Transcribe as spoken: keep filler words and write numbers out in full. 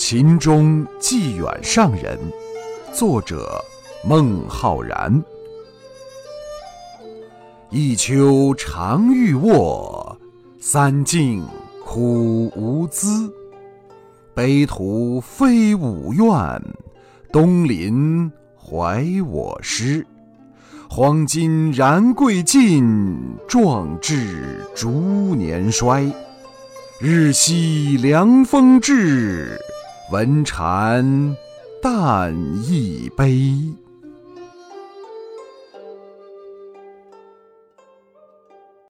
秦中寄远上人，作者孟浩然。一秋常欲卧，三径苦无资。北土非吾愿，东临怀我师。黄金然贵尽，壮志逐年衰。日夕凉风至，闻蝉但亦悲。